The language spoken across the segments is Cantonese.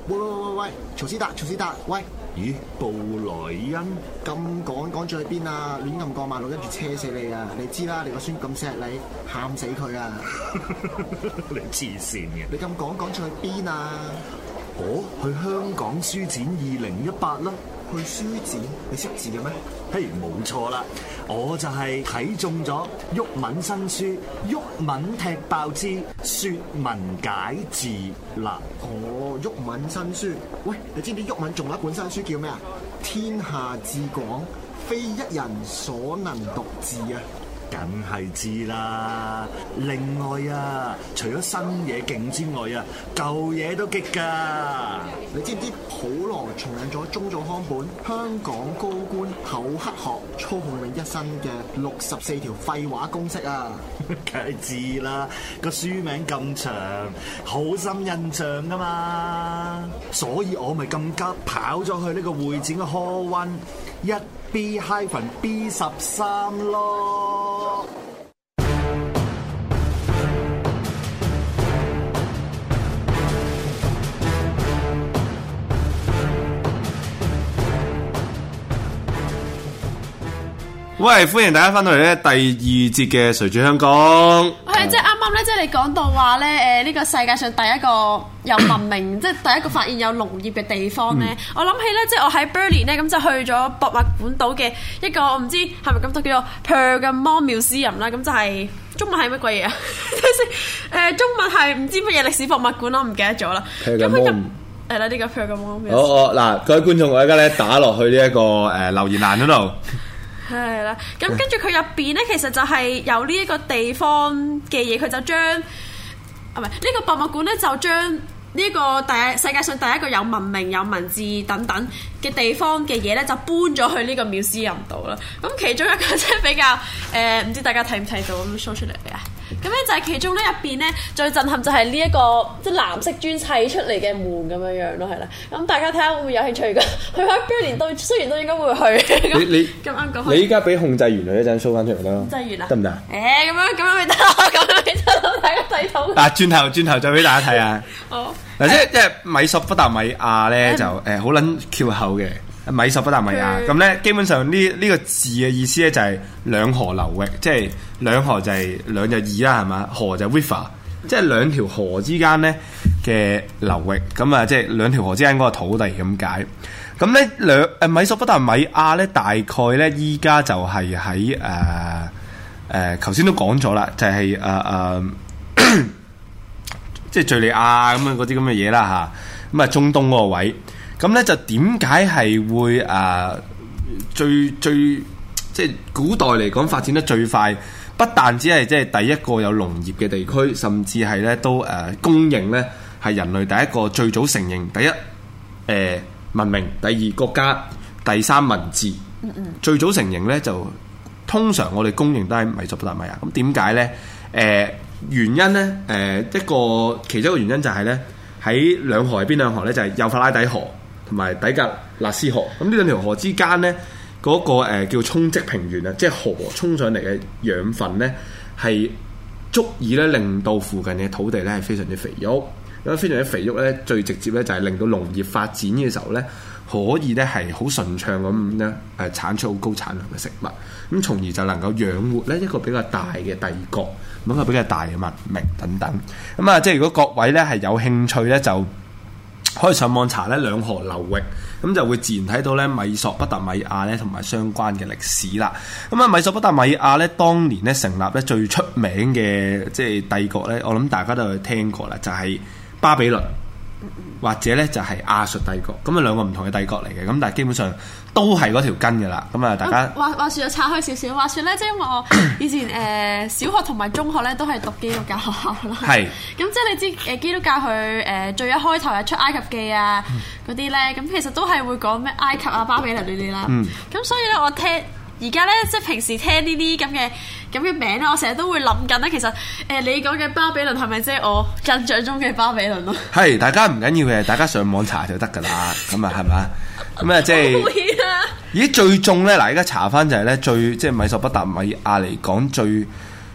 喂，曹斯達，喂！ 咦，布萊恩咁趕住去邊啊？亂咁過馬路，跟住車死你啊！你知啦，你個孫咁錫你，喊死佢啊！ 你黐線嘅！ 你咁趕住去邊啊？ 去香港書展2018啦！ 去書展？你識字嘅咩？ 嘿，冇錯啦，我就係睇中咗毓民新書《毓民踢爆之説文解字》啦。 毓民新書。喂，你知唔知毓民仲有一本新書叫咩啊？天下至廣，非一人所能獨治啊！ 梗係知啦。另外啊，除咗新嘢勁之外啊，舊嘢都激㗎。 你知唔知普羅重印咗中早康本《香港高官口黑學操控你一生嘅64條廢話公式》啊？ 梗係知啦，個書名咁長，好深印象㗎嘛。所以我咪咁急跑咗去呢個會展嘅 Hall 1 1B-B13咯。 喂，歡迎大家翻到嚟咧第二節嘅誰主香港。 係即係啱啱咧，即係你講到話咧，呢個世界上第一個有文明，即係第一個發現有農業嘅地方咧。我諗起咧，即係我喺 Berlin 咧，咁就去咗博物館島嘅一個，我唔知係咪咁讀，叫做 Pergamon Museum 啦。咁就係中文係乜鬼嘢啊？中文係唔知乜嘢歷史博物館咯，唔記得咗啦。 Pergamon 係啦，呢個 Pergamon。 嗱，各位觀眾，我而家咧打落去呢一個留言欄嗰度。 係啦，咁跟住佢入邊咧，其實就係有呢一個地方嘅嘢，佢就將呢個博物館咧，就將呢個世界上第一個有文明、有文字等等嘅地方嘅嘢咧，就搬咗去呢個 museum 度啦。咁其中一個即係比較唔知大家睇唔睇到咁 show 出嚟啊？咁咧就係其中咧入邊咧最震撼就係呢一個即係藍色磚砌出嚟嘅門咁樣樣咯，係啦。咁大家睇下會唔會有興趣㗎？去喺 Berlin 都雖然都應該會去。 你咁啱講，你依家俾控制員嚟一陣 show 翻出嚟啦。控制員啊？得唔得？ 咁樣咪得咯，咁樣咪得咯，大家睇到。 嗱，轉頭再俾大家睇下。好。嗱，即係米索不達米亞咧就好撚翹口嘅。米索不達米亞咁咧，基本上呢個字嘅意思咧就係兩河流域，即係兩河就係兩就二啦，係嘛？河就 river， 即係兩條河之間咧嘅流域，咁啊即係兩條河之間嗰個土地咁解。咁咧米索不達米亞咧大概咧依家就係喺頭先都講咗啦，就係即係敍利亞咁樣嗰啲咁嘅嘢啦嚇，咁啊中東嗰個位。咁咧就點解係會最即係古代嚟講發展得最快？不但只係即係第一個有農業嘅地區，甚至係咧都公認咧係人類第一個最早承認第一文明，第二國家，第三文字。最早承認咧就通常我哋公認都係米索不達米亞。咁點解咧？原因咧其中一個原因就係咧喺兩河係邊兩河咧？就係幼發拉底河同埋底格勒斯河，咁呢兩條河之間咧，嗰個叫沖積平原啊，即係河沖上嚟嘅養分咧，係足以咧令到附近嘅土地咧係非常之肥沃。咁非常之肥沃咧，最直接咧就係令到農業發展嘅時候咧，可以咧係好順暢咁咧產出好高產量嘅食物，咁從而就能夠養活咧一個比較大嘅帝國，一個比較大嘅文明等等。咁啊，即係如果各位咧係有興趣咧，就可以上網查咧兩河流域，咁就會自然睇到咧米索不達米亞咧同埋相關嘅歷史啦。咁啊，米索不達米亞咧當年咧成立咧最出名嘅即係帝國咧，我諗大家都有聽過啦，就係巴比倫或者咧就係亞述帝國。咁啊兩個唔同嘅帝國嚟嘅，咁但係基本上都係嗰條根㗎啦。咁啊大家話説就拆開少少，話説咧即係因為我以前小學同埋中學咧都係讀基督教學校啦。係。咁即係你知基督教佢最一開頭係出埃及記啊嗰啲咧，咁其實都係會講咩埃及啊巴比倫呢啲啦。咁所以咧我而家咧即係平時聽呢啲咁嘅名咧，我成日都會諗緊咧，其實你講嘅巴比倫係咪即係我印象中嘅巴比倫咯？係， 大家唔緊要嘅，大家上網查就得㗎啦。咁啊係咪？咁啊即係咦最重咧嗱，而家查翻就係咧最即係米索不達米亞嚟講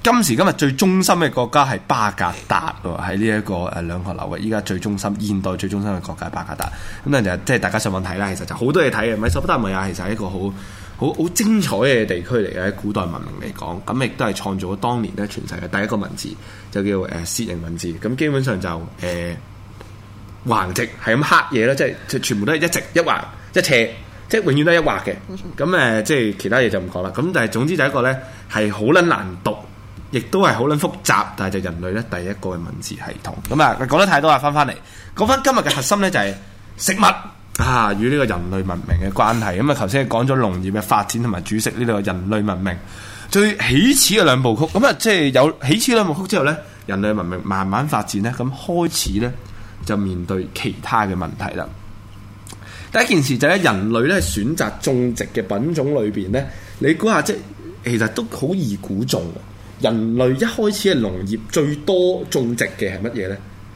今時今日最中心嘅國家係巴格達喎，喺呢一個兩河流域，依家最中心、現代最中心嘅國家係巴格達。咁咧就即係大家上網睇啦，其實就好多嘢睇嘅。米索不達米亞其實係一個好精彩嘅地區嚟嘅，喺古代文明嚟講，咁亦都係創造咗當年咧全世界第一個文字，就叫楔形文字。咁基本上就橫直係咁刻嘢啦，即係全部都係一直一橫一斜，即係永遠都係一畫嘅。咁即係其他嘢就唔講啦。咁但係總之就一個咧係好撚難讀，亦都係好撚複雜，但係就人類咧第一個嘅文字系統。咁啊講得太多啦，翻嚟講翻今日嘅核心咧就係食物啊，與呢個人類文明嘅關係。咁啊頭先講咗農業嘅發展同埋煮食呢個人類文明最起始嘅兩部曲。咁啊即係有起始兩部曲之後咧，人類文明慢慢發展咧，咁開始咧就面對其他嘅問題啦。第一件事就係人類咧選擇種植嘅品種裏邊咧，你估下即係其實都好易估中。人類一開始嘅農業最多種植嘅係乜嘢咧？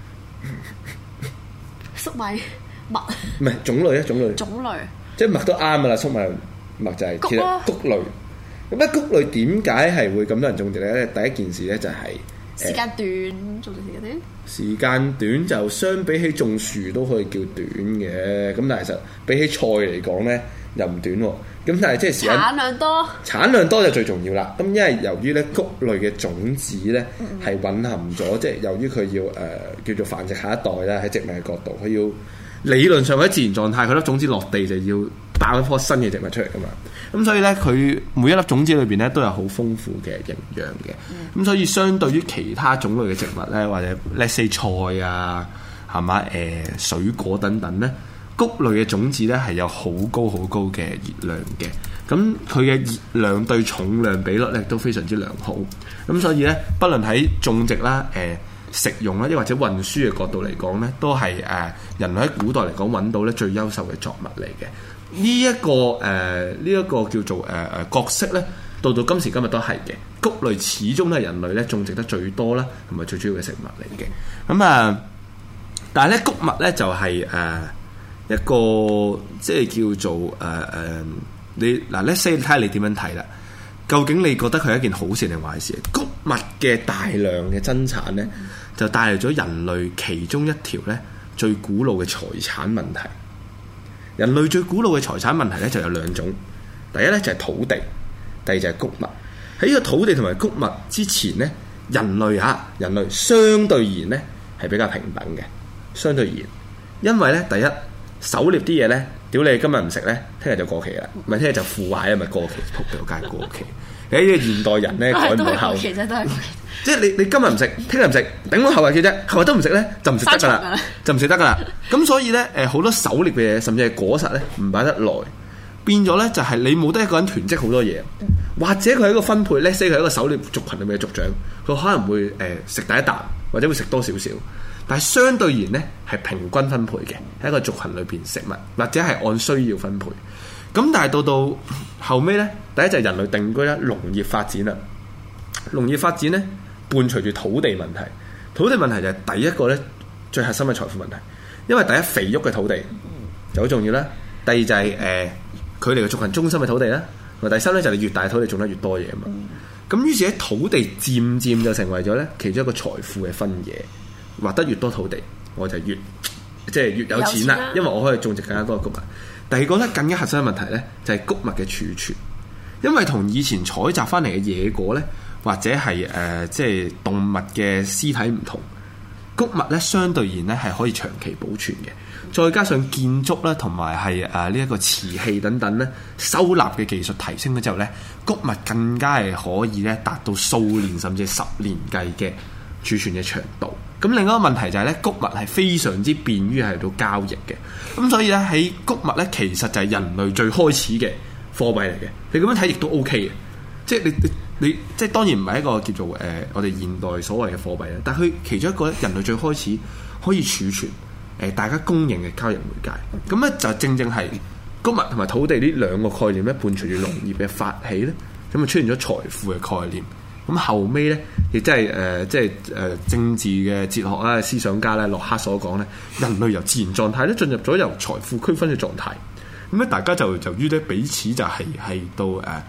粟米、麥。 唔係種類啊，種類。即係麥都啱噶啦，粟米麥就係其實穀類。咁咧穀類點解係會咁多人種植咧？第一件事咧就係時間短，種植時間短。 時間短就相比起種樹都可以叫短嘅，咁但係其實比起菜嚟講咧又唔短喎。咁但係即係時間產量多就最重要啦。咁因為由於咧穀類嘅種子咧係蘊含咗，即係由於佢要叫做繁殖下一代啦，喺植物嘅角度，佢要理論上喺自然狀態，佢粒種子落地就要爆一棵新嘅植物出嚟噶嘛。咁所以咧，佢每一粒種子裏邊咧都有好豐富嘅營養嘅。咁所以相對於其他種類嘅植物咧，或者 let's say 菜啊，係嘛水果等等咧，穀類嘅種子咧係有好高嘅熱量嘅。咁佢嘅熱量對重量比率咧都非常之良好。咁所以咧，不論喺種植啦、食用啦，亦或者運輸嘅角度嚟講咧，都係人類喺古代嚟講揾到咧最優秀嘅作物嚟嘅。呢一個叫做角色咧，到今時今日都係嘅。穀類始終都係人類咧種植得最多啦，同埋最主要嘅食物嚟嘅。咁但係咧穀物咧就係一個即係叫做你嗱，let's say 睇下你點樣睇啦。究竟你覺得佢係一件好事定壞事？穀物嘅大量嘅增產咧，就帶嚟咗人類其中一條咧最古老嘅財產問題。人類最古老嘅財產問題咧就有兩種，第一咧就係土地，第二就係穀物。喺呢個土地同埋穀物之前咧，人類相對而言咧係比較平等嘅，相對而言，因為咧第一狩獵啲嘢咧，屌你今日唔食咧，聽日就過期啦，唔係聽日就腐壞啊，咪過期，仆街過期。喺呢個現代人咧改唔到口，即係你今日唔食，聽日唔食，頂到後日嘅啫，後日都唔食咧就唔食得噶啦，就唔食得噶啦。咁所以咧好多狩獵嘅嘢，甚至係果實咧唔擺得耐，變咗咧就係你冇得一個人囤積好多嘢，或者佢係一個分配，let's say 佢係一個狩獵族群裏面嘅族長，佢可能會食第一啖，或者會食多少少，但係相對而言咧係平均分配嘅，喺一個族群裏邊食物，或者係按需要分配。咁但係到後尾咧，第一就係人類定居啦，農業發展啦，農業發展咧伴隨住土地問題，土地問題就係第一個咧最核心嘅財富問題，因為第一肥沃嘅土地就好重要啦，第二就係佢哋嘅族群中心嘅土地啦，同埋第三咧就係你越大土地種得越多嘢啊嘛。咁於是喺土地漸就成為咗咧其中一個財富嘅分野，劃得越多土地我就越有錢啦，因為我可以種植更加多嘅穀物。第二個咧更加核心嘅問題咧就係穀物嘅儲存，因為同以前採集翻嚟嘅野果咧，或者係即係動物嘅屍體唔同，穀物咧相對而言咧係可以長期保存嘅，再加上建築啦同埋係呢一個瓷器等等咧收納嘅技術提升咗之後咧，穀物更加係可以咧達到數年甚至10年計嘅儲存嘅長度。咁另外一個問題就係咧，穀物係非常之便於係到交易嘅。咁所以咧喺穀物咧，其實就係人類最開始嘅貨幣嚟嘅。你咁樣睇亦都 OK 嘅，即係你即係當然唔係一個叫做我哋現代所謂嘅貨幣啦。但係佢其中一個咧，人類最開始可以儲存大家公認嘅交易媒介。咁咧就正係穀物同埋土地呢兩個概念咧，伴隨住農業嘅發起咧，咁啊出現咗財富嘅概念。咁後尾咧，亦即係政治嘅哲學啦、思想家咧，洛克所講咧，人類由自然狀態咧進入咗由財富區分嘅狀態。咁咧，大家就由於咧彼此就係到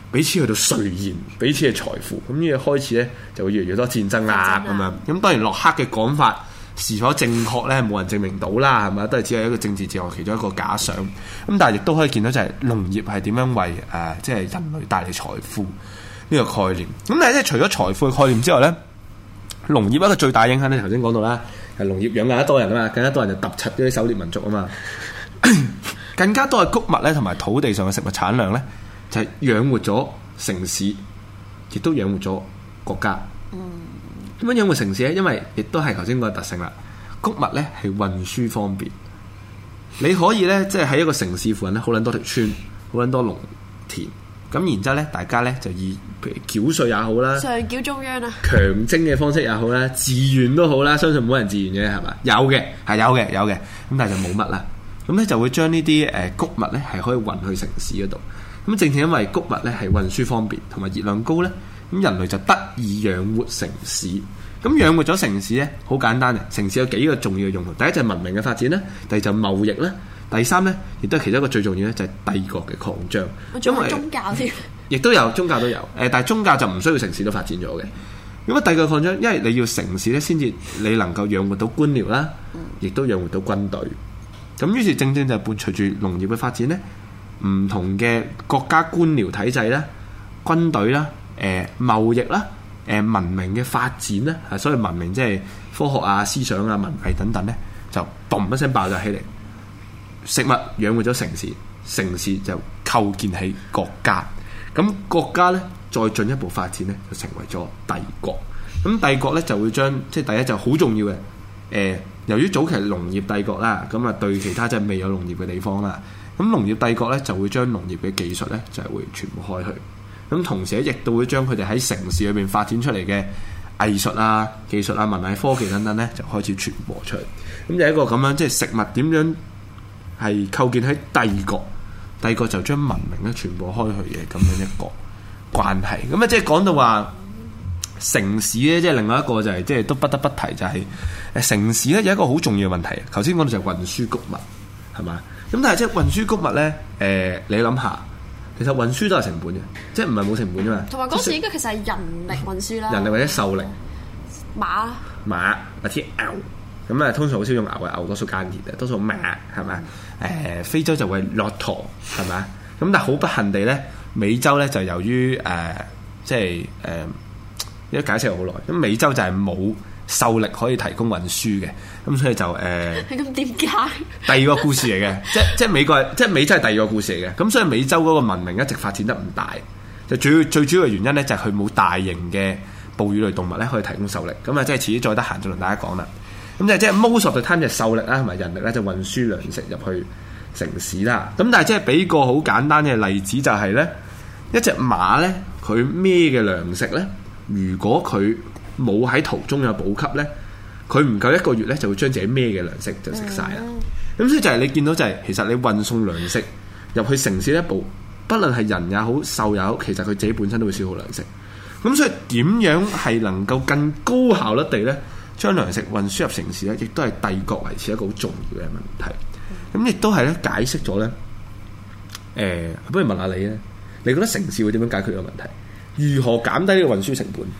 彼此去到垂涎彼此嘅財富，咁呢個開始咧就會越嚟越多戰爭啦咁樣。咁當然洛克嘅講法是否正確咧，冇人證明到啦，係咪？都係只係一個政治哲學其中一個假想。咁但係亦都可以見到就係農業係點樣為即係人類帶嚟財富呢個概念。咁但係即係除咗財富嘅概念之外咧，農業一個最大影響咧，頭先講到啦，係農業養更加多人啊嘛，更加多人就揼柒嗰啲狩獵民族啊嘛，更加多嘅穀物咧同埋土地上嘅食物產量咧，就係養活咗城市，亦都養活咗國家。點樣養活城市咧？因為亦都係頭先嗰個特性啦。穀物咧係運輸方便，你可以咧即係喺一個城市附近咧，好撚多條村，好撚多農田。咁然之後咧，大家咧就以譬如繳稅也好啦， 上繳中央啊， 強徵嘅方式也好啦，自願都好啦，相信冇人自願嘅係嘛？有嘅係有嘅，咁但係就冇乜啦。咁咧就會將呢啲穀物咧係可以運去城市嗰度。咁正正因為穀物咧係運輸方便同埋熱量高咧，咁人類就得以養活城市。咁養活咗城市咧，好簡單嘅。城市有幾個重要嘅用途，第一就係文明嘅發展啦，第二就係貿易啦，第三咧亦都係其中一個最重要咧，就係帝國嘅擴張。 因為宗教添， 亦都有宗教都有，但係宗教就唔需要城市都發展咗嘅。咁啊，帝國擴張，因為你要城市咧，先至你能夠養活到官僚啦，亦都養活到軍隊。咁於是正正就伴隨住農業嘅發展咧，唔同嘅國家官僚體制啦、軍隊啦、貿易啦、文明嘅發展咧，所以文明即係科學啊、思想啊、文藝等等咧，就嘣一聲爆咗起嚟。食物養活咗城市，城市就構建起國家。咁國家咧再進一步發展咧，就成為咗帝國。咁帝國咧就會將即係第一就好重要嘅由於早期農業帝國啦，咁啊對其他即係未有農業嘅地方啦，咁農業帝國咧就會將農業嘅技術咧就係會傳播開去，咁同時咧亦都會將佢哋喺城市裏邊發展出嚟嘅藝術啊、技術啊、文藝科技等等咧就開始傳播出嚟，咁就一個咁樣即係食物點樣係構建喺帝國，帝國就將文明咧傳播開去嘅咁樣一個關係，咁啊即係講到話。城市咧，即係另外一個就係、是，即係都不得不提就係、是，城市咧有一個好重要嘅問題。頭先講到就係運輸穀物，係嘛？咁但係即係運輸穀物咧，你諗下，其實運輸都係成本嘅，即係唔係冇成本㗎嘛。同埋嗰時應該其實係人力運輸啦， 人力或者獸力，馬或者牛，咁啊通常好少用牛嘅，牛多數耕田嘅，多數馬係咪？非洲就會駱駝係咪？咁但係好不幸地咧，美洲咧就由於即係一解釋好耐，咁美洲就係冇獸力可以提供運輸嘅，咁所以就咁點解？ 第二個故事嚟嘅，即係美國，即係美洲係第二個故事嚟嘅，咁所以美洲嗰個文明一直發展得唔大，就最主要嘅原因咧就係佢冇大型嘅哺乳類動物咧可以提供獸力，咁啊即係遲啲再得閒就同大家講啦。咁即係 most of the time 就係獸力啦同埋人力咧就運輸糧食入去城市啦。咁但係即係俾個好簡單嘅例子就係咧，一隻馬咧佢孭嘅糧食咧。如果佢冇喺途中有補給咧，佢唔夠一個月咧，就會將自己孭嘅糧食就食晒啦。咁所以就係你見到就係、是，其實你運送糧食入去城市一步，不論係人也好、獸也好，其實佢自己本身都會消耗糧食。咁所以點樣係能夠更高效率地咧，將糧食運輸入城市咧，亦都係帝國維持一個好重要嘅問題。咁亦都係咧解釋咗咧，不如問下你咧，你覺得城市會點樣解決呢個問題？如何減低呢個運輸成本？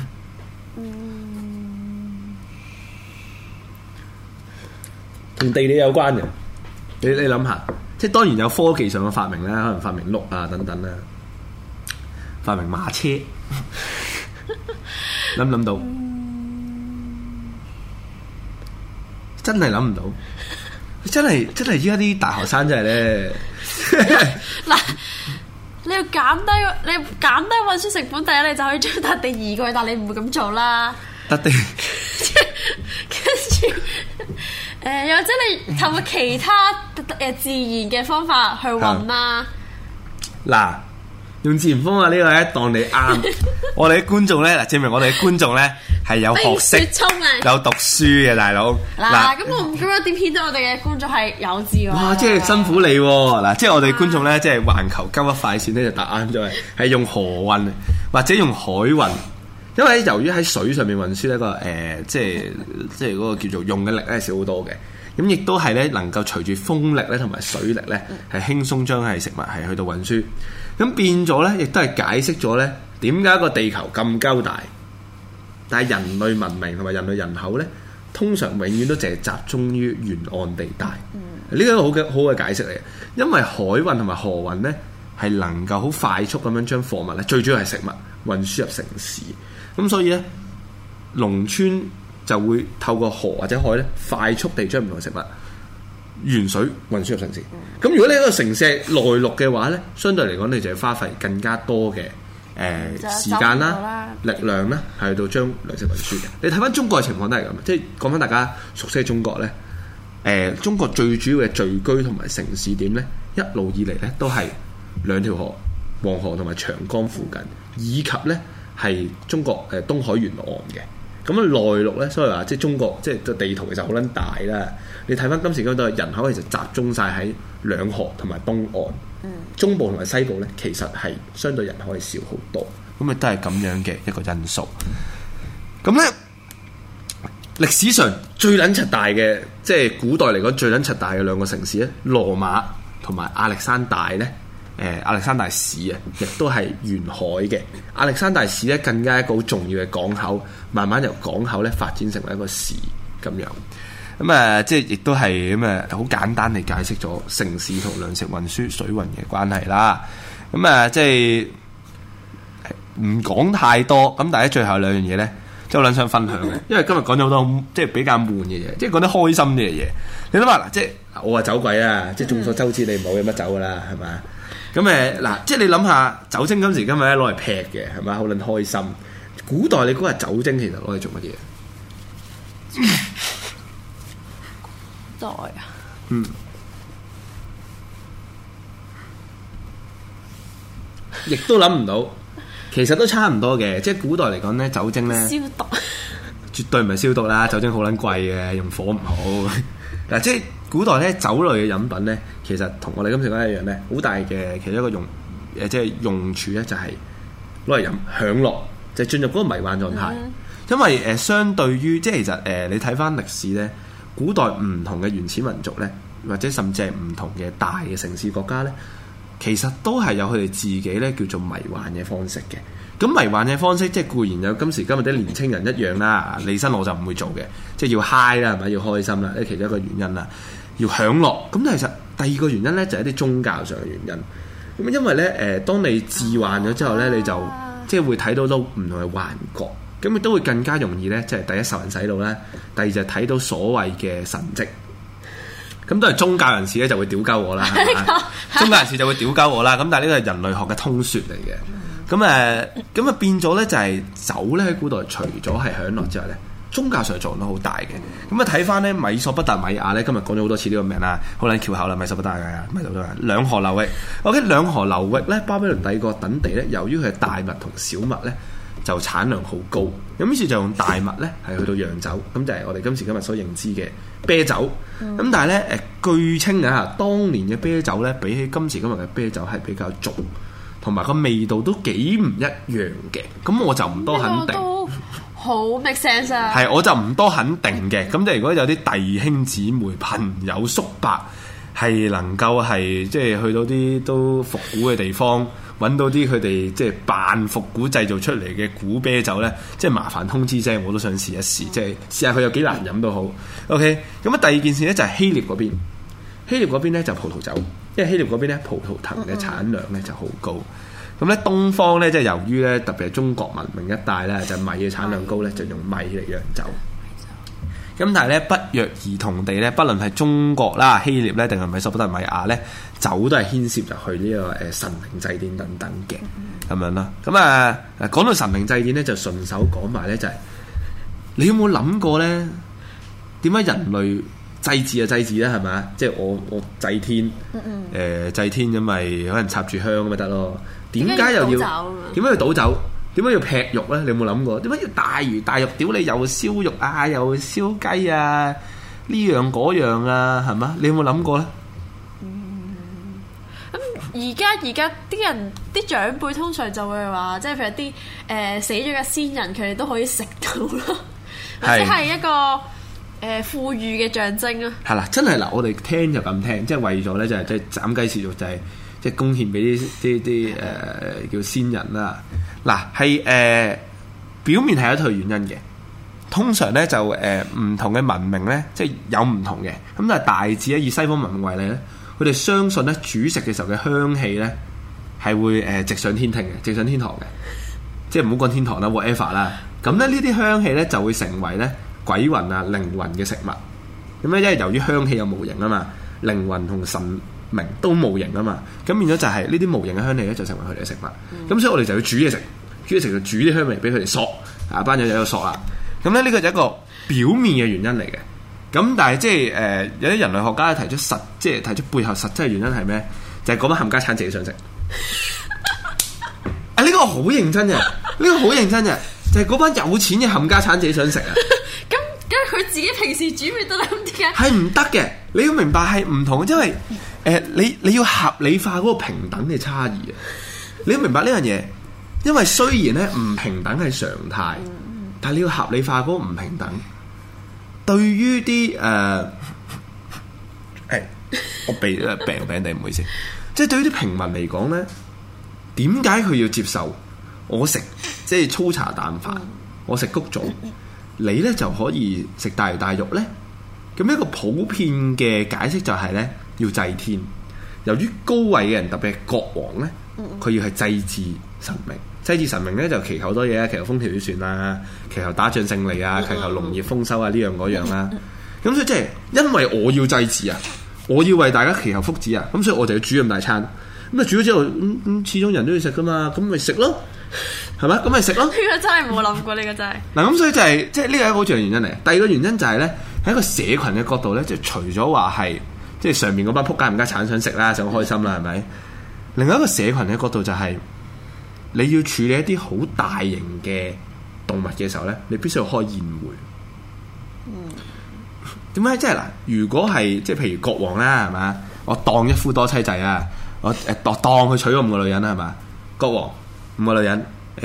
同地理有關嘅。你諗下，即係當然有科技上嘅發明啦，可能發明轆啊等等啦，發明馬車，諗唔諗到？真係諗唔到，真係依家啲大學生真係咧嗱。你要減低運輸成本，第一你就可以將笪地移過去，但你唔會咁做啦。 笪地， 跟住又或者你透過其他自然嘅方法去運啦。 嗱，用自然方法呢個咧當你啱。我哋啲觀眾咧，嗱證明我哋啲觀眾咧係有學識、有讀書嘅大佬。 嗱，咁我咁樣點顯得我哋嘅觀眾係有智慧？ 哇！即係辛苦你喎。嗱，即係我哋觀眾咧，即係環球交一快線咧就答啱咗，係用河運或者用海運。 因為由於喺水上面運輸呢個即係嗰個叫做用嘅力咧少好多嘅，咁亦都係咧能夠隨住風力咧同埋水力咧係輕鬆將係食物係去到運輸，咁變咗咧亦都係解釋咗咧點解個地球咁鳩大，但係人類文明同埋人類人口咧通常永遠都淨係集中於沿岸地帶。呢個好嘅解釋嚟嘅，因為海運同埋河運咧係能夠好快速咁樣將貨物咧，最主要係食物運輸入城市，咁所以咧農村就會透過河或者海咧快速地將唔同食物沿水運輸入城市。咁如果你喺個城市內陸嘅話咧，相對嚟講你就要花費更加多嘅時間啦、力量啦，係到將糧食運輸嘅。你睇翻中國嘅情況都係咁，即係講翻大家熟悉嘅中國咧。中國最主要嘅聚居同埋城市點咧，一路以嚟咧都係兩條河，黃河同埋長江附近，以及咧係中國東海沿岸嘅。咁啊內陸咧，所以話即係中國即係個地圖其實好撚大啦。你睇翻今時今日人口其實集中晒喺兩河同埋東岸，中部同埋西部咧其實係相對人口係少好多。咁啊都係咁樣嘅一個因素。咁咧。歷史上最撚柒大嘅，即係古代嚟講最撚柒大嘅兩個城市咧，羅馬同埋亞歷山大咧，亞歷山大市啊，亦都係沿海嘅。亞歷山大市咧更加一個好重要嘅港口，慢慢由港口咧發展成為一個市咁樣。咁即係亦都係咁好簡單地解釋咗城市同糧食運輸水運嘅關係啦。咁即係唔講太多。咁但係最後兩樣嘢咧。即係我諗想分享嘅，因為今日講咗好多即係比較悶嘅嘢，即係講啲開心啲嘅嘢。你諗下嗱，即係我話酒鬼啊，即係眾所周知你唔好飲乜酒噶啦，係咪？咁嗱，即係你諗下酒精今時今日咧攞嚟劈嘅係咪？好撚開心。古代你估下酒精其實攞嚟做乜嘢？ 古代啊？ 亦都諗唔到。其實都差唔多嘅，即係古代嚟講咧，酒精咧消毒， 絕對唔係消毒啦。酒精好撚貴嘅，用火唔好嗱。即係古代咧，酒類嘅飲品咧，其實同我哋今時今日一樣咧，好大嘅其中一個即係用處咧，就係攞嚟飲享樂，就係進入嗰個迷幻狀態。因為相對於即係其實你睇翻歷史咧，古代唔同嘅原始民族咧，或者甚至係唔同嘅大嘅城市國家咧。其實都係有佢哋自己咧叫做迷幻嘅方式嘅。咁迷幻嘅方式即係固然有今時今日啲年青人一樣啦。李生我就唔會做嘅，即係要 high 啦，係咪要開心啦？呢其中一個原因啦，要享樂。咁其實第二個原因咧就係一啲宗教上嘅原因。咁因為咧當你致幻咗之後咧，你就即係會睇到都唔同嘅幻覺，咁亦都會更加容易咧，即係第一受人洗腦啦，第二就係睇到所謂嘅神蹟。咁都係宗教人士咧就會屌鳩我啦，係嘛？宗教人士就會屌鳩我啦。咁但係呢個係人類學嘅通説嚟嘅。咁變咗咧就係酒咧喺古代除咗係享樂之外咧，宗教上作用都好大嘅。咁睇翻咧米索不達米亞咧，今日講咗好多次呢個名啦，好撚翹口啦，米索不達米亞，兩河流域。OK， 兩河流域咧，巴比倫帝國等地咧，由於佢係大麥同小麥咧，就產量好高，咁於是就用大麥咧係去到釀酒，咁就係我哋今時今日所認知嘅啤酒。咁但係咧據稱啊，當年嘅啤酒咧比起今時今日嘅啤酒係比較重，同埋個味道都幾唔一樣嘅。咁我就唔多肯定。都好 make sense 啊！ 係，我就唔多肯定嘅。咁就如果有啲弟兄姊妹、朋友、叔伯係能夠係即係去到啲都復古嘅地方。揾到啲佢哋即係扮復古製造出嚟嘅古啤酒咧，即係麻煩通知聲，我都想試一試，即係試下佢有幾難飲都好。OK， 咁第二件事咧就係希臘嗰邊，希臘嗰邊咧就葡萄酒，因為希臘嗰邊咧葡萄藤嘅產量咧就好高。咁咧東方咧即係由於咧特別係中國文明一帶咧就米嘅產量高咧，就用米嚟釀酒。咁但係咧不約而同地咧，不論係中國啦、希臘咧，定係米索不達米亞咧，酒都係牽涉入去呢個神明祭典等等嘅咁樣啦。咁講到神明祭典咧，就順手講埋咧就係、是、你有冇諗過咧？點解人類祭祀就祭祀咧？係咪啊？即係我祭天，祭天咁咪可能插住香咁咪得咯？點解又要點解要倒酒？點解要劈肉咧？你有冇諗過？點解要大魚大肉？屌你又燒肉啊，又燒雞啊，呢樣嗰樣啊，係嘛？你有冇諗過咧？ 咁而家啲人啲長輩通常就會話，即係譬如啲死咗嘅先人，佢哋都可以食到咯，或者係一個富裕嘅象徵啊。 係啦，真係嗱，我哋聽就咁聽，即係為咗咧就係即係斬雞切肉，就係即係貢獻俾啲叫先人啦。嗱係表面係一套原因嘅，通常咧就唔同嘅文明咧，即係有唔同嘅，咁但係大致咧以西方文明為例咧，佢哋相信咧煮食嘅時候嘅香氣咧係會直上天庭嘅，直上天堂嘅，即係唔好講天堂啦 whatever 啦。咁咧呢啲香氣咧就會成為咧鬼魂啊靈魂嘅食物。咁咧因為由於香氣有無形啊嘛，靈魂同神明都無形啊嘛，咁變咗就係呢啲無形嘅香氣咧就成為佢哋嘅食物。咁所以我哋就要煮嘢食，煮嘢食就煮啲香味俾佢哋索，班友就有索啦。咁咧呢個就係一個表面嘅原因嚟嘅。咁但係即係有啲人類學家提出即係提出背後實質嘅原因係咩？就係嗰班冚家產自己想食。呢個好認真嘅，呢個好認真嘅，就係嗰班有錢嘅冚家產自己想食啊！ 咁佢自己平時煮咪得啦？咁點解？ 係唔得嘅，你要明白係唔同，因為你要合理化嗰個平等嘅差異啊！你要明白呢樣嘢，因為雖然咧唔平等係常態，但係你要合理化嗰個唔平等。對於啲我病地唔好意思，即係對於啲平民嚟講咧，點解佢要接受我食即係粗茶淡飯，我食谷種，你咧就可以食大魚大肉咧？咁一個普遍嘅解釋就係咧要祭天。由於高位嘅人，特別係國王咧，佢要係祭祀神明。祭祀神明咧就祈求好多嘢啊，祈求風調雨順啊，祈求打仗勝利啊，祈求農業豐收啊，呢樣嗰樣啦。咁所以即係因為我要祭祀啊，我要為大家祈求福祉啊，咁所以我就要煮咁大餐。咁啊煮咗之後，始終人都要食噶嘛，咁咪食咯，係咪？咁咪食咯。呢個真係冇諗過，呢個真係。 嗱咁所以就係即係呢個係一個好重要原因嚟。第二個原因就係咧喺一個社群嘅角度咧，即係除咗話係即係上面嗰班仆街冚家產想食啦，想開心啦，係咪？另外一個社群嘅角度就係、是。你要處理一啲好大型嘅動物嘅時候咧，你必須要開宴會。點解？即係嗱，如果係即係譬如國王啦，係嘛？我當一夫多妻制啊，我當佢娶咗5個女人啦，係嘛？國王5個女人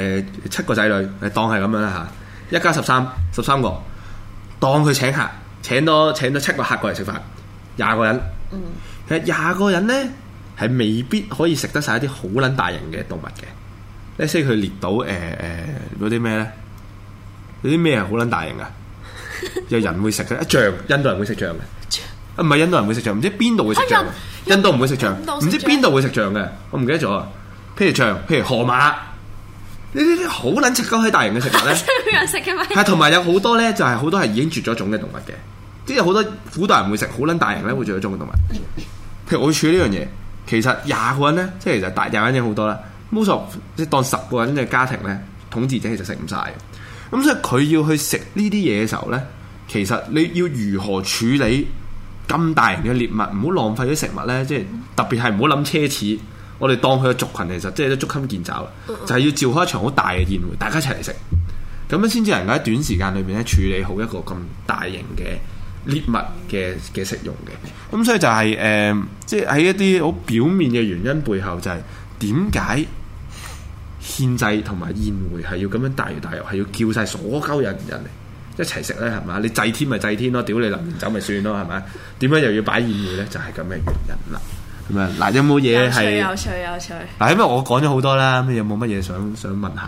，7個仔女，當係咁樣啦嚇，一家13個，當佢請客，請多7個客過嚟食飯，20個人。其實20個人咧係未必可以食得晒一啲好撚大型嘅動物嘅。呢些佢列到嗰啲咩咧？嗰啲咩係好撚大型噶？有人會食嘅，象，印度人會食象嘅。唔係印度人會食象，唔知邊度會食象。印度唔會食象，唔知邊度會食象嘅。我唔記得咗啊。譬如象，譬如河馬，呢啲好撚食鳩喺大型嘅食物咧。有人食嘅咩？係同埋有好多咧，就係好多係已經絕咗種嘅動物嘅。即係好多古代人會食好撚大型咧，會絕咗種嘅動物。譬如我會處理呢樣嘢，其實20個人咧，即係其實大20個人好多啦。most of 即係當10個人嘅家庭咧，統治者其實食唔晒。咁所以佢要去食呢啲嘢嘅時候咧，其實你要如何處理咁大型嘅獵物，唔好浪費啲食物咧，即係特別係唔好諗奢侈。我哋當佢嘅族群其實即係都捉襟見肘，就係要召開一場好大嘅宴會，大家一齊嚟食，咁樣先至能夠喺短時間裏面咧處理好一個咁大型嘅獵物嘅食用嘅。咁所以就係即係喺一啲好表面嘅原因背後，就係點解獻祭同埋宴會係要咁樣大魚大肉，係要叫晒所有人嚟一齊食咧，係嘛？你祭天咪祭天咯，屌你淋完酒咪算咯，係咪？點解又要擺宴會咧？就係咁嘅原因啦。咁啊，嗱，有冇嘢係有趣？ 嗱，因為我講咗好多啦，咁有冇乜嘢想問下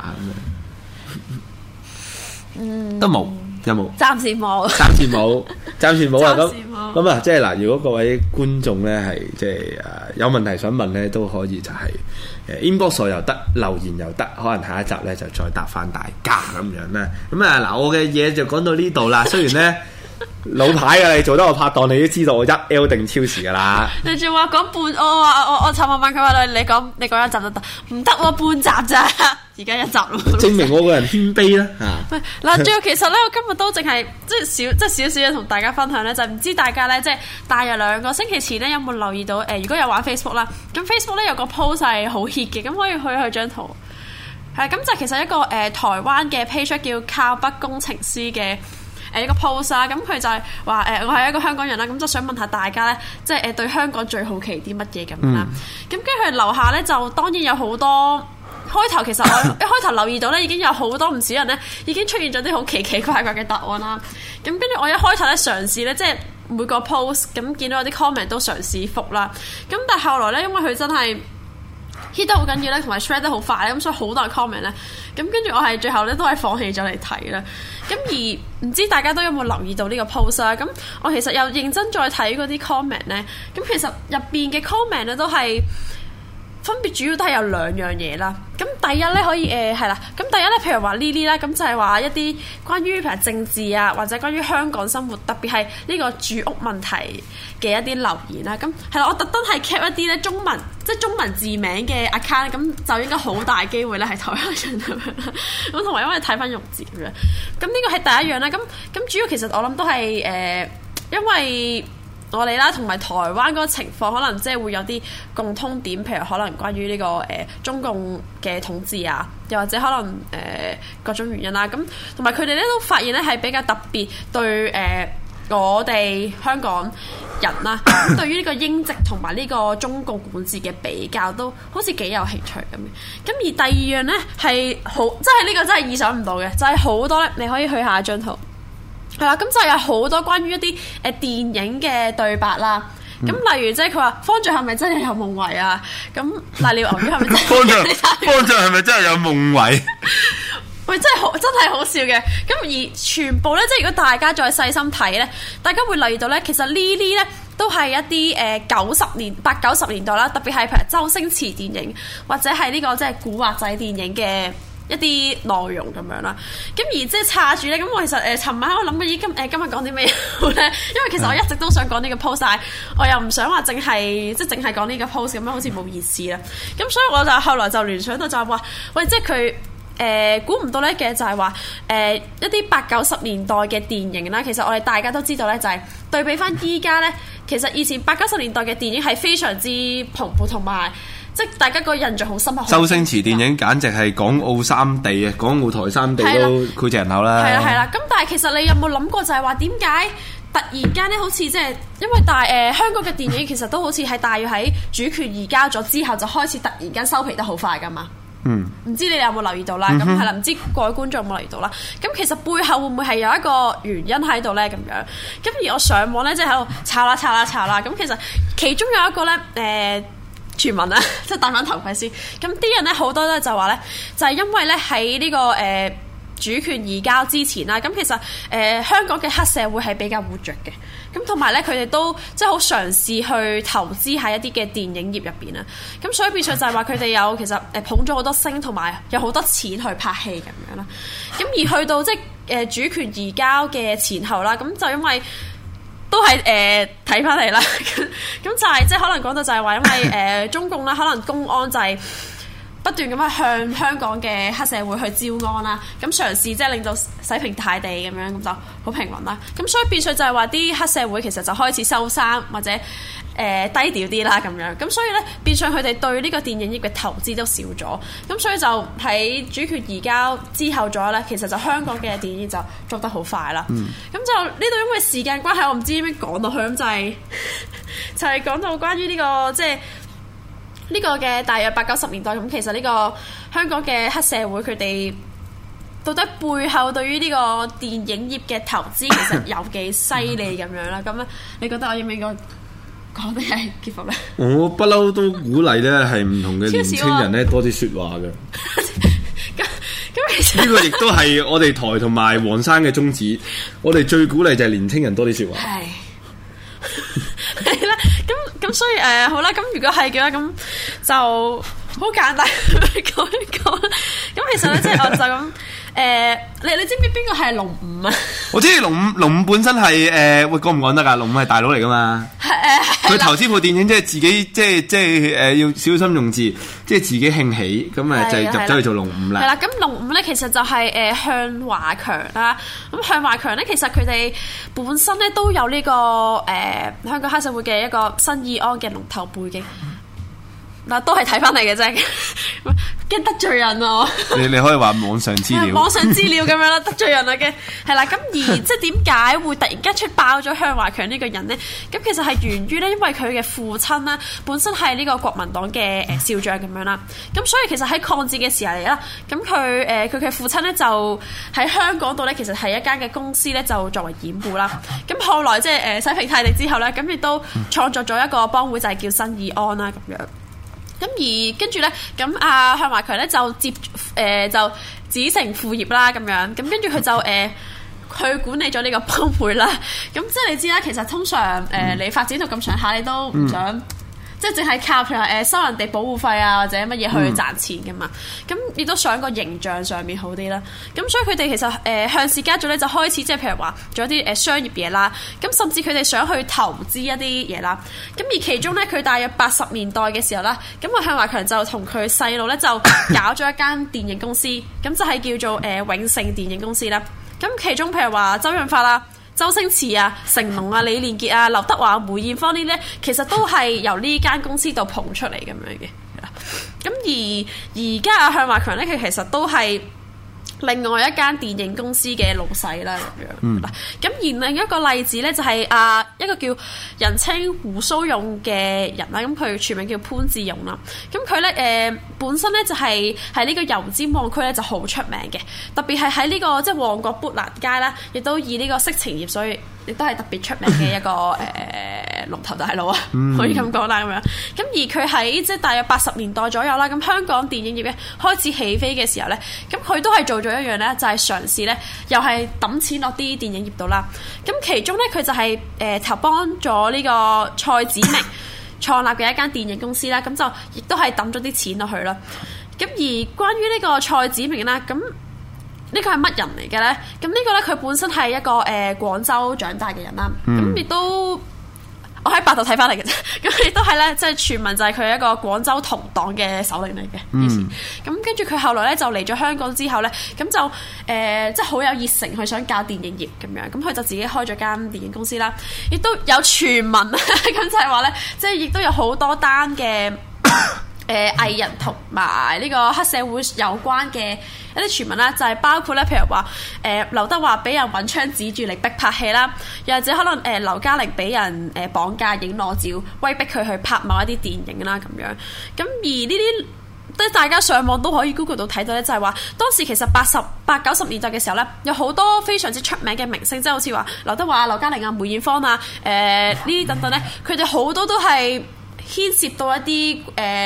咁都冇，有冇？暫時冇啊！咁啊，即係嗱，如果各位觀眾咧係即係有問題想問咧，都可以就係inbox 又得，留言又得，可能下一集咧就再答翻大家咁樣啦。咁啊嗱，我嘅嘢就講到呢度啦。雖然咧老牌嘅你做得我拍檔，你都知道我1L 定超時噶啦。你仲話講半，我尋日問佢話你講一集就得，唔得喎，半集咋？而家1集咯。證明我個人謙卑啦。喂，嗱，最後其實咧，我今日都淨係即係少少嘢同大家分享咧，就唔知大家咧即係大約2個星期前咧有冇留意到如果有玩 Facebook 啦，咁 Facebook 咧有個 post 係好 hit 嘅，咁可以去張圖。係咁就其實一個台灣嘅 page 叫靠北工程師嘅。 一個 post 啦，咁佢就係話我係一個香港人啦，咁就想問下大家咧，即係對香港最好奇啲乜嘢咁啦。咁跟住佢樓下咧就當然有好多。開頭其實我一開頭留意到咧，已經有好多唔少人咧已經出現咗啲好奇奇怪怪嘅答案啦。咁跟住我一開頭咧嘗試咧，即係每個 post 咁見到有啲 comment 都嘗試覆啦。咁但係後來咧，因為佢真係 hit 得好緊要咧，同埋 share 得好快咧，咁所以好多人 comment 咧。咁跟住我係最後咧都係放棄咗嚟睇啦。咁而唔知大家都有冇留意到呢個 post 啦？咁我其實又認真再睇嗰啲 comment 咧，咁其實入邊嘅 comment 咧都係。分別主要都係有兩樣嘢啦。咁第一咧可以係啦。咁第一咧，譬如話 Lily 啦，咁就係話一啲關於譬如政治啊，或者關於香港生活，特別係呢個住屋問題嘅一啲留言啦。咁係啦，我特登係 cap 一啲咧中文，即係中文字名嘅 account，咁就應該好大機會咧係台灣人咁樣啦。咁同埋因為睇翻用字咁樣。咁呢個係第一樣啦。咁主要其實我諗都係因為。我哋啦，同埋台灣嗰個情況，可能即係會有啲共通點，譬如可能關於呢個中共嘅統治啊，又或者可能各種原因啦。咁同埋佢哋咧都發現咧係比較特別對我哋香港人啦，對於呢個英殖同埋呢個中共管治嘅比較，都好似幾有興趣咁嘅。咁而第二樣咧係好，即係呢個真係意想唔到嘅，就係好多咧，你可以去下一張圖。係啦，咁就有好多關於一啲電影嘅對白啦。咁例如即係佢話方丈係咪真係有夢遺啊？咁瀨尿牛丸係咪真係？ 方丈係咪真係有夢遺？ 喂，真係好笑嘅。咁而全部咧，即係如果大家再細心睇咧，大家會留意到咧，其實呢啲咧都係一啲八九十年代啦，特別係譬如周星馳電影或者係呢個即係古惑仔電影嘅。一啲內容咁樣啦，咁而即係插住咧，咁我其實尋晚我諗緊今日講啲咩好咧？因為其實我一直都想講呢個 post， 但係我又唔想話淨係講呢個 post 咁樣，好似冇意思啦。咁所以我就後來就聯想到就係話，喂，即係佢估唔到咧嘅就係話一啲八九十年代嘅電影啦，其實我哋大家都知道咧，就係對比翻依家咧，其實以前八九十年代嘅電影係非常之蓬勃同埋。即係大家個印象好深刻。 周星馳電影簡直係港澳三地啊，港澳台三地都膾炙人口啦。 係啦。咁但係其實你有冇諗過就係話點解突然間咧，好似即係因為香港嘅電影其實都好似係大約喺主權移交咗之後就開始突然間收皮得好快㗎嘛。唔知你哋有冇留意到啦？咁係啦，唔知各位觀眾有冇留意到啦？咁其實背後會唔會係有一個原因喺度咧？咁樣咁而我上網咧，即係喺度查啦。咁其實其中有一個咧傳聞啦，即係戴翻頭盔先。咁啲人咧好多咧就話咧，就係因為咧喺呢個主權移交之前啦，咁其實香港嘅黑社會係比較活躍嘅。咁同埋咧，佢哋都即係好嘗試去投資喺一啲嘅電影業入邊啦。咁所以變相就係話佢哋有其實捧咗好多星，同埋有好多錢去拍戲咁樣啦。咁而去到即係主權移交嘅前後啦，咁就因為。都係睇翻嚟啦，咁就係即係可能講到就係話，因為中共啦，可能公安就係不斷咁樣向香港嘅黑社會去招安啦，咁嘗試即係令到洗平大地咁樣，咁就好平穩啦。咁所以變相就係話啲黑社會其實就開始收山或者低調啲啦咁樣，咁所以咧變相佢哋對呢個電影業嘅投資都少咗，咁所以就喺主權移交之後咗咧，其實就香港嘅電影就做得好快啦。咁就呢度因為時間關係，我唔知點樣講落去，咁就係講到關於呢個即係呢個嘅大約八九十年代，咁其實呢個香港嘅黑社會佢哋到底背後對於呢個電影業嘅投資其實有幾犀利咁樣啦？咁咧，你覺得我應唔應該講定係結束咧？ 我不嬲都鼓勵咧，係唔同嘅年青人咧多啲説話嘅。咁其實呢個亦都係我哋台同埋黃生嘅宗旨。我哋最鼓勵就係年青人多啲説話。係啦，咁所以好啦，咁如果係嘅話，咁就好簡單講一講。咁其實咧，即係我就咁。你知唔知邊個係龍五啊？我知龍五本身係喂講唔講得㗎？龍五係大佬嚟㗎嘛。佢投資部電影即係自己即係要小心用字，即係自己興起咁就入咗去做龍五啦。係啦，咁龍五咧其實就係向華強啦。咁向華強咧，其實佢哋本身咧都有呢個香港黑社會嘅一個新義安嘅龍頭背景。 嗱都係睇翻嚟嘅啫，驚得罪人啊！ 你可以話網上資料， 網上資料咁樣啦，得罪人啦嘅，係啦。咁而即係點解會突然間出爆咗向華強呢個人呢？咁其實係源於咧，因為佢嘅父親啦，本身係呢個國民黨嘅少將咁樣啦。咁所以其實喺抗戰嘅時候嚟啦，咁佢嘅父親咧就喺香港度咧，其實係一間嘅公司咧，就作為掩護啦。咁後來即係洗平泰地之後咧，咁亦都創作咗一個幫會，就係叫新義安啦咁樣。咁而跟住咧，咁向華強咧就就子承父業啦，咁樣咁跟住佢就去管理咗呢個幫會啦。咁即係你知啦，其實通常你發展到咁上下，你都唔想。即係淨係靠譬如收人哋保護費啊，或者乜嘢去賺錢噶嘛，咁亦都想個形象上面好啲啦。咁所以佢哋其實向氏家族咧就開始即係譬如話做一啲商業嘢啦。咁甚至佢哋想去投資一啲嘢啦。咁而其中咧，佢大約80年代嘅時候啦，咁向華強就同佢細佬咧就搞咗一間電影公司，咁就係叫做永盛電影公司啦。咁其中譬如話周潤發啦、周星馳啊、成龍啊、李連杰啊、劉德華、梅艷芳呢啲咧，其實都係由呢間公司度捧出嚟咁樣嘅。咁而家向華強咧，佢其實都係另外一間電影公司嘅老細啦咁樣。咁而另一個例子咧，就係一個叫人稱胡鬚勇嘅人啦。咁佢全名叫潘志勇啦。咁佢咧本身咧就係喺呢個油尖旺區咧就好出名嘅，特別係喺呢個即係旺角砵蘭街啦，亦都以呢個色情業，所以亦都係特別出名嘅一個龍頭大佬啊，可以咁講啦咁樣。咁而佢喺即係大約80年代左右啦，咁香港電影業咧開始起飛嘅時候咧，咁佢都係做咗一樣咧，就係嘗試咧，又係揼錢落啲電影業度啦。咁其中咧，佢就係投幫咗呢個蔡子明創立嘅一間電影公司啦。咁就亦都係揼咗啲錢落去啦。咁而關於呢個蔡子明啦，咁呢個係乜人嚟嘅咧？咁呢個咧，佢本身係一個廣州長大嘅人啦。咁亦都我喺百度睇翻嚟嘅啫。咁亦都係咧，即係傳聞就係佢係一個廣州同黨嘅首領嚟嘅。咁跟住佢後來咧就嚟咗香港之後咧，咁就即係好有熱誠去想教電影業咁樣。咁佢就自己開咗間電影公司啦。亦都有傳聞咁就係話咧，即係亦都有好多單嘅藝人同埋呢個黑社會有關嘅一啲傳聞啦，就係包括咧，譬如話劉德華俾人揾槍指住嚟逼拍戲啦，又或者可能劉嘉玲俾人綁架影裸照，威逼佢去拍某一啲電影啦咁樣。咁而呢啲即係大家上網都可以 Google 到睇到咧，就係話當時其實80、90年代嘅時候咧，有好多非常之出名嘅明星，即係好似話劉德華、劉嘉玲啊、梅艷芳啊、呢啲等等咧，佢哋好多都係牽涉到一啲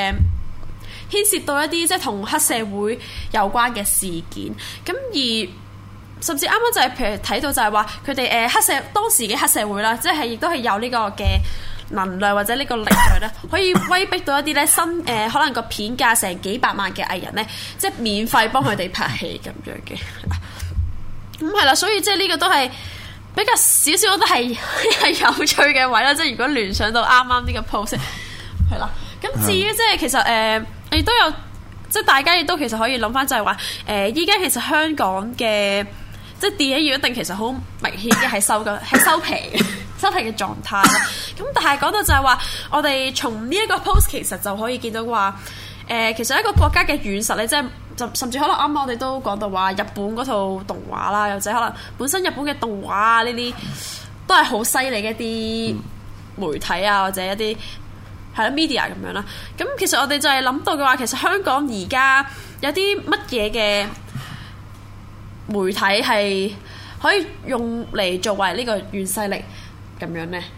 即係同黑社會有關嘅事件。咁而甚至啱啱就係譬如睇到就係話佢哋當時嘅黑社會啦，即係亦都係有呢個嘅能量或者呢個力量咧，可以威逼到一啲咧可能個片價成幾百萬嘅藝人咧，即係免費幫佢哋拍戲咁樣嘅。咁係啦，所以即係呢個都係比較少少，我覺得係有趣嘅位啦。即係如果聯想到啱啱呢個 post 係啦。咁至於即係其實亦都有即係大家亦都其實可以諗翻就係話依家其實香港嘅即係電影業一定其實好明顯嘅係收皮嘅狀態啦。咁但係講到就係話，我哋從呢一個 post 其實就可以見到話其實一個國家嘅軟實力，即係就甚至可能啱啱我哋都講到話日本嗰套動畫啦，又或者可能本身日本嘅動畫啊呢啲都係好犀利嘅一啲媒體啊，或者一啲係啦 media 咁樣啦。咁其實我哋就係諗到嘅話，其實香港而家有啲乜嘢嘅媒體係可以用嚟作為呢個軟勢力咁樣咧？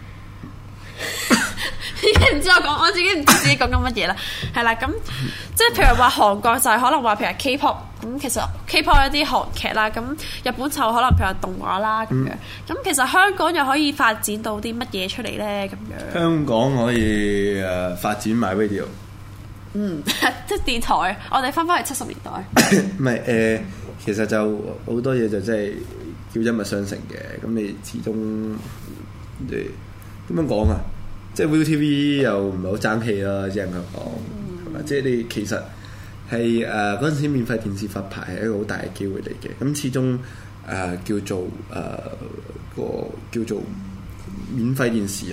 已經唔知我自己唔知自己講緊乜嘢啦。係啦，咁即係譬如話韓國就係可能話譬如 K-pop 咁，其實 K-pop 一啲韓劇啦，咁日本就可能譬如動畫啦咁樣。咁其實香港又可以發展到啲乜嘢出嚟咧？咁樣香港可以發展埋 radio。 即係電台，我哋翻返去70年代。 唔係其實就好多嘢就真係叫一脈相承嘅。咁你始終點樣講啊？即係 ViuTV 又唔係好爭氣啦，只能夠講係嘛？即係你其實係嗰陣時免費電視發牌係一個好大嘅機會嚟嘅。咁始終叫做免費電視啊，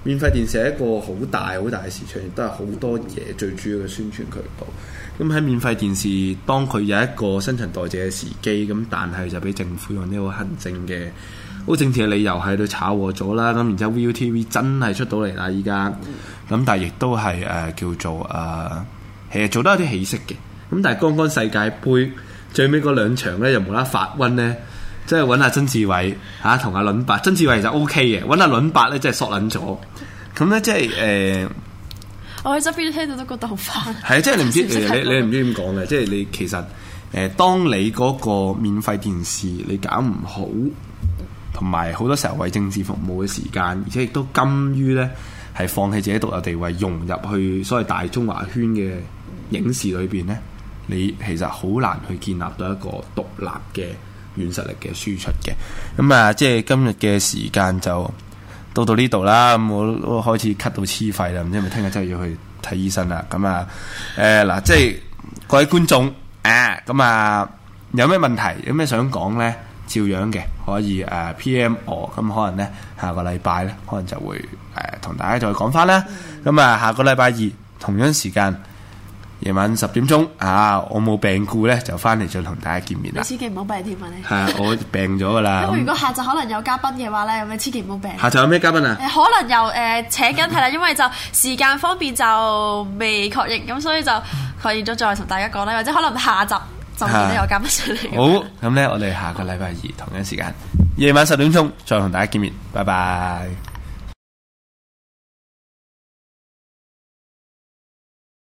免費電視係一個好大好大嘅市場，亦都係好多嘢最主要嘅宣傳渠道。咁喺免費電視，當佢有一個新陳代謝嘅時機，咁但係就俾政府用呢個行政嘅好政治嘅理由喺度炒和咗啦。咁然之後 ViuTV 真係出到嚟啦，依家咁，但係亦都係叫做其實做得有啲起色嘅。咁但係剛剛世界盃最尾嗰兩場咧，又無啦發瘟咧，即係揾下曾志偉嚇同阿倫伯，曾志偉其實 OK 嘅，揾阿倫伯咧真係索撚咗。咁咧即係我喺側邊聽到都覺得好煩。 係啊，即係你唔知你唔知點講嘅，即係你其實當你嗰個免費電視你搞唔好，同埋好多時候為政治服務嘅時間，而且亦都甘於咧係放棄自己獨有地位，融入去所謂大中華圈嘅影視裏邊咧，你其實好難去建立到一個獨立嘅軟實力嘅輸出嘅。咁啊，即係今日嘅時間就到呢度啦。咁我都開始咳到黐肺啦，唔知係咪聽日真係要去睇醫生啦。咁啊嗱，即係各位觀眾咁有咩問題，有咩想講咧，照樣嘅可以PM 我。咁可能咧下個禮拜咧，可能就會同大家再講翻啦。咁下個禮拜二同樣時間，夜晚10點鐘我冇病故咧，就翻嚟再同大家見面啦。 你千祈唔好病添啊！你係我病咗噶啦。 因為如果下晝可能有嘉賓嘅話咧，咁你千祈唔好病。 下晝有咩嘉賓啊？ 可能又請緊係啦，因為就時間方面就未確認，咁所以就確認咗再同大家講啦，或者可能下集就見到有嘉賓上嚟。 好，咁咧我哋下個禮拜二同樣時間，夜晚10點鐘再同大家見面，拜拜。